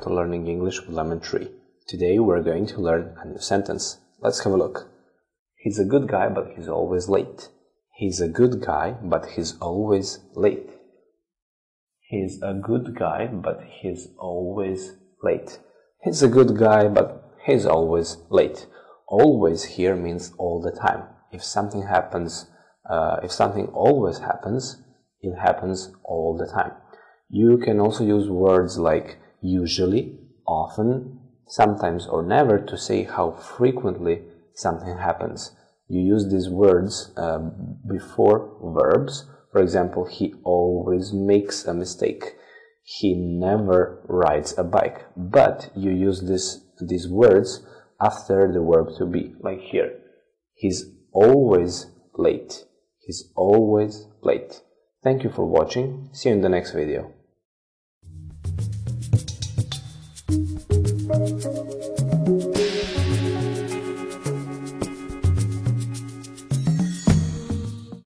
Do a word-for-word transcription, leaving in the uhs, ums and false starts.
to Learning English with Lemon Tree. Today we're going to learn a new sentence. Let's have a look. He's a good guy, but he's always late. He's a good guy, but he's always late. He's a good guy, but he's always late. He's a good guy, but he's always late. Always here means all the time. If something happens, uh, if something always happens, it happens all the time. You can also use words like usually, often, sometimes or never to say how frequently something happens. You use these words uh, before verbs. For example, he always makes a mistake. He never rides a bike. But you use this, these words after the verb to be, like here. He's always late. He's always late. Thank you for watching. See you in the next video.